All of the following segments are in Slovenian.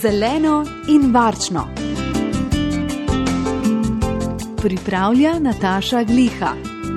Zeleno in varčno. Pripravlja Nataša Gliha.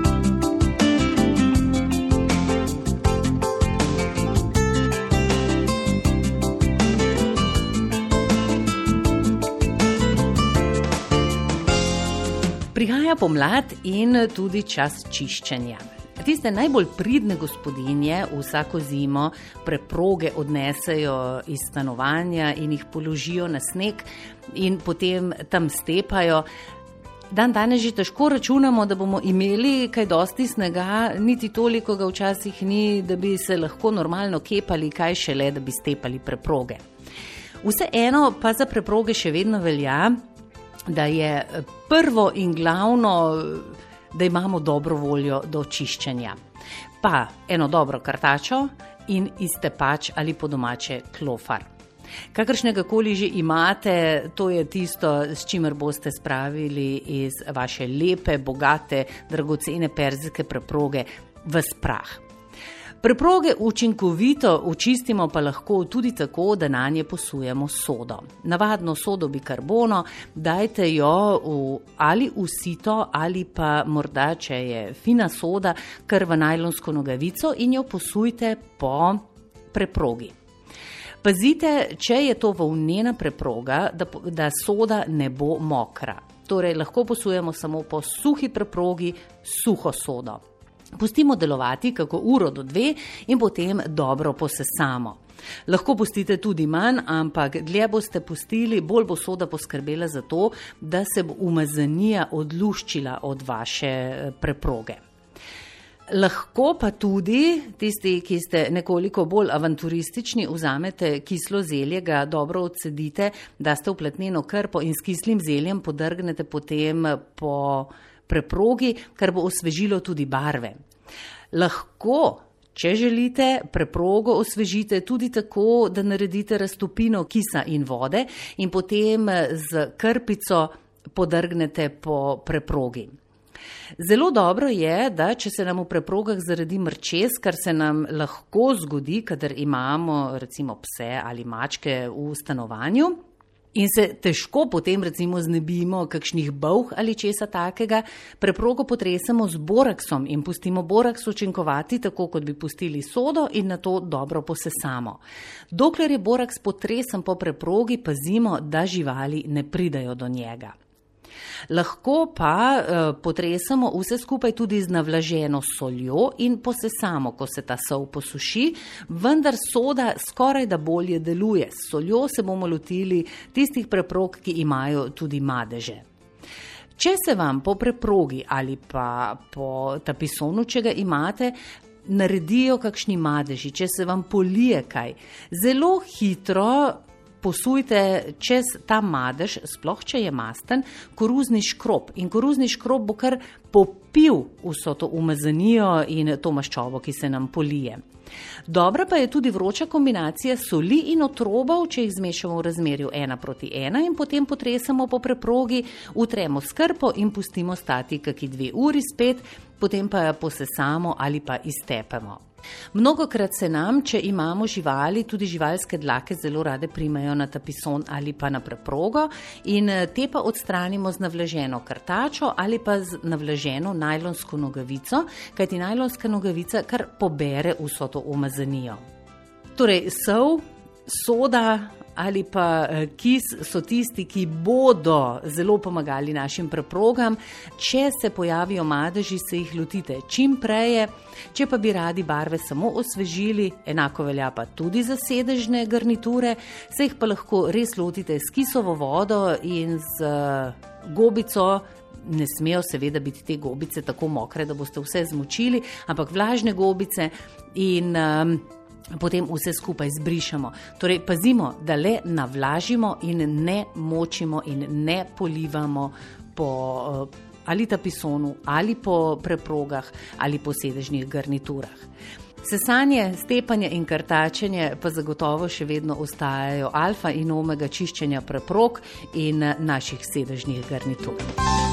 Prihaja pomlad in tudi čas čiščenja. Tiste najbolj pridne gospodinje vsako zimo preproge odnesejo iz stanovanja in jih položijo na sneg in potem tam stepajo. Danes že težko računamo, da bomo imeli kaj dosti snega, niti toliko ga včasih ni, da bi se lahko normalno kepali, kaj šele, da bi stepali preproge. Vseeno pa za preproge še vedno velja, da je prvo in glavno, da imamo dobro voljo do čiščenja. Pa eno dobro kartačo in iztepač ali po domače klofar. Kakršnega koli že imate, to je tisto, s čimer boste spravili iz vaše lepe, bogate, dragocene perzijske preproge ves prah. Preproge učinkovito očistimo pa lahko tudi tako, da nanje posujemo sodo. Navadno sodo bikarbono, dajte jo ali v sito ali pa morda, če je fina soda, kar v najlonsko nogavico in jo posujte po preprogi. Pazite, če je to volnena preproga, da soda ne bo mokra. Torej, lahko posujemo samo po suhi preprogi suho sodo. Pustimo delovati kako uro do 2 in potem dobro posesamo. Lahko pustite tudi manj, ampak dlje boste pustili, bolj bo soda poskrbela za to, da se bo umazanija odluščila od vaše preproge. Lahko pa tudi, tisti, ki ste nekoliko bolj avanturistični, vzamete kislo zelje, ga dobro odcedite, daste v platneno krpo in s kislim zeljem podrgnete potem po preprogi, kar bo osvežilo tudi barve. Lahko, če želite, preprogo osvežite tudi tako, da naredite raztopino kisa in vode in potem z krpico podrgnete po preprogi. Zelo dobro je, da če se nam v preprogah zaradi mrčes, kar se nam lahko zgodi, kadar imamo recimo pse ali mačke v stanovanju, in se težko potem recimo znebimo kakšnih bolh ali česa takega, preprogo potresemo z boraksom in pustimo boraks učinkovati tako, kot bi pustili sodo in nato dobro posesamo. Dokler je boraks potresen po preprogi, pazimo, da živali ne pridajo do njega. Lahko pa potresamo vse skupaj tudi z navlaženo soljo in posesamo, ko se ta sol posuši, vendar soda skoraj da bolje deluje. S soljo se bomo lotili tistih preprog, ki imajo tudi madeže. Če se vam po preprogi ali pa po tapisonu, če ga imate, naredijo kakšni madeži, če se vam polije kaj, zelo hitro posujte čez ta madež, sploh če je masten, koruzni škrob. In koruzni škrob bo kar popil vso to umazanijo in to maščobo, ki se nam polije. Dobra pa je tudi vroča kombinacija soli in otrobov, če jih zmešamo v razmerju 1:1 in potem potresamo po preprogi, utremo s krpo in pustimo stati kaki 2 uri spet, potem pa posesamo ali pa iztepemo. Mnogokrat se nam, če imamo živali, tudi živalske dlake zelo rade primejo na tapison ali pa na preprogo in te pa odstranimo z navlaženo kartačo ali pa z navlaženo najlonsko nogavico, kajti najlonska nogavica kar pobere vso to umazanijo. Torej, sol, soda ali pa kis so tisti, ki bodo zelo pomagali našim preprogam. Če se pojavijo madeži, se jih lotite čim preje. Če pa bi radi barve samo osvežili, enako velja pa tudi za sedežne garniture, se jih pa lahko res lotite s kisovo vodo in z gobico. Ne smejo seveda biti te gobice tako mokre, da boste vse zmočili, ampak vlažne gobice in potem vse skupaj zbrišemo. Torej, pazimo, da le navlažimo in ne močimo in ne polivamo po ali tapisonu, ali po preprogah, ali po sedežnih garniturah. Sesanje, stepanje in krtačenje pa zagotovo še vedno ostajajo alfa in omega čiščenja preprog in naših sedežnih garnitur.